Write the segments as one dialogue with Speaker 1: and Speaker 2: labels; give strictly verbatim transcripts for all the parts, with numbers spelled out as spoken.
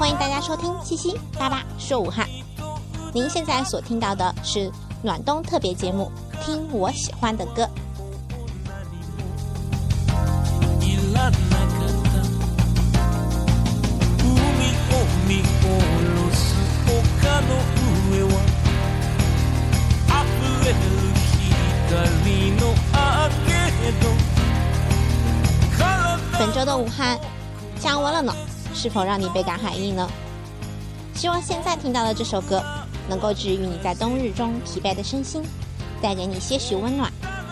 Speaker 1: 欢迎大家收听七七八八说武汉。您现在所听到的是暖冬特别节目，听我喜欢的歌。本周的武汉降温了呢，是否让你倍感寒意呢？希望现在听到的这首歌能够治愈你在冬日中疲惫的身心，带给你些许温暖。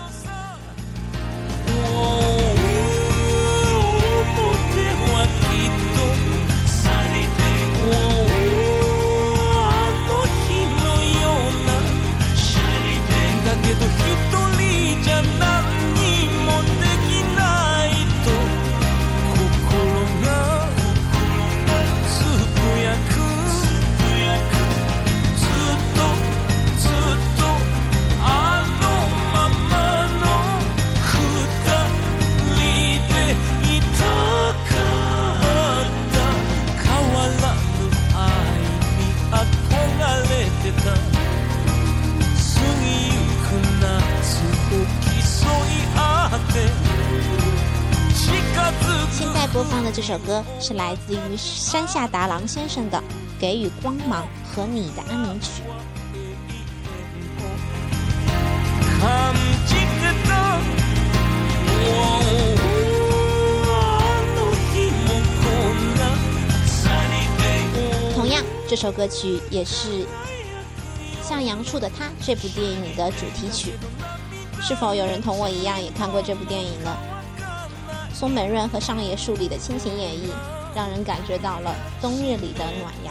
Speaker 1: 现在播放的这首歌是来自于山下达郎先生的《给予光芒和你的安眠曲》。同样，这首歌曲也是《向阳处的他》这部电影的主题曲。是否有人同我一样也看过这部电影呢？松本润和上野树里的亲情演绎，让人感觉到了冬日里的暖阳。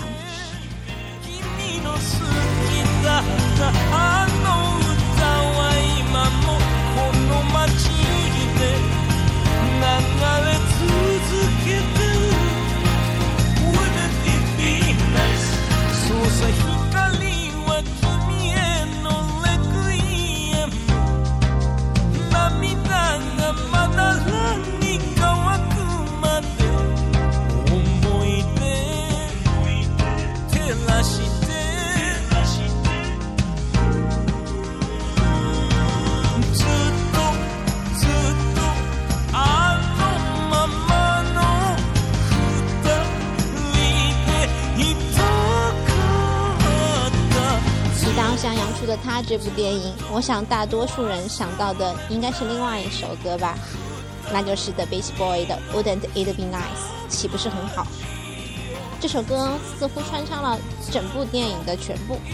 Speaker 1: 向阳处的他这部电影，我想大多数人想到的应该是另外一首歌吧，那就是 The Beach Boys 的 Wouldn't It Be Nice， 岂不是很好？这首歌似乎穿插了整部电影的全部。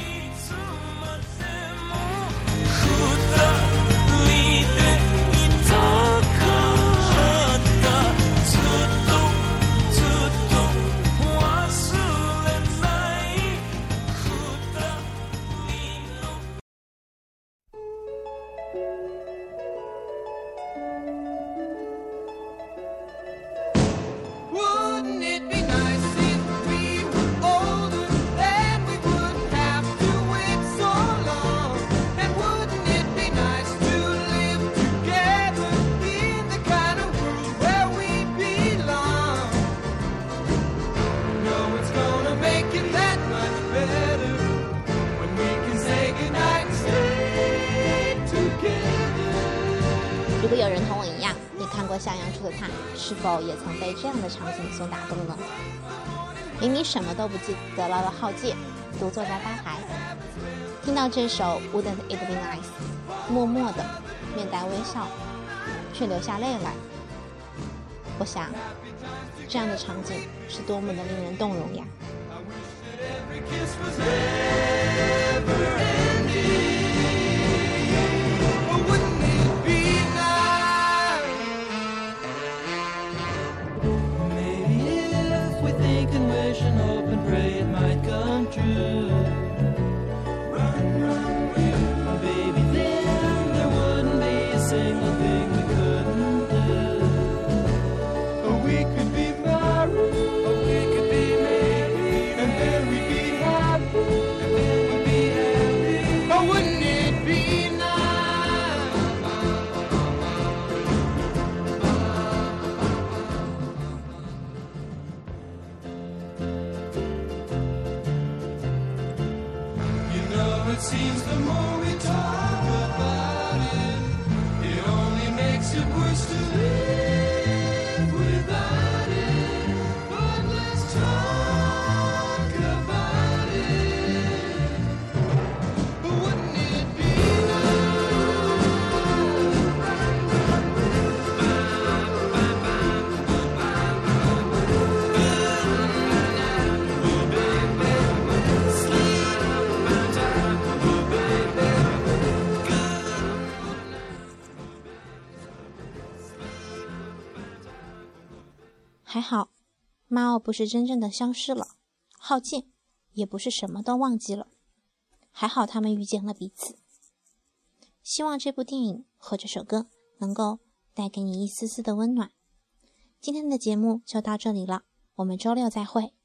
Speaker 1: 如果有人同我一样也看过向阳处的他，是否也曾被这样的场景所打动呢？明明什么都不记得了的浩介独坐在吧台，听到这首 Wouldn't It Be Nice， 默默的面带微笑，却流下泪来。我想这样的场景是多么的令人动容呀。
Speaker 2: seems the more we talk about it, it only makes it worse to live without it. But let's talk about it. Wouldn't it be
Speaker 1: 还好，马奥不是真正的消失了，浩介也不是什么都忘记了。还好他们遇见了彼此。希望这部电影和这首歌能够带给你一丝丝的温暖。今天的节目就到这里了，我们周六再会。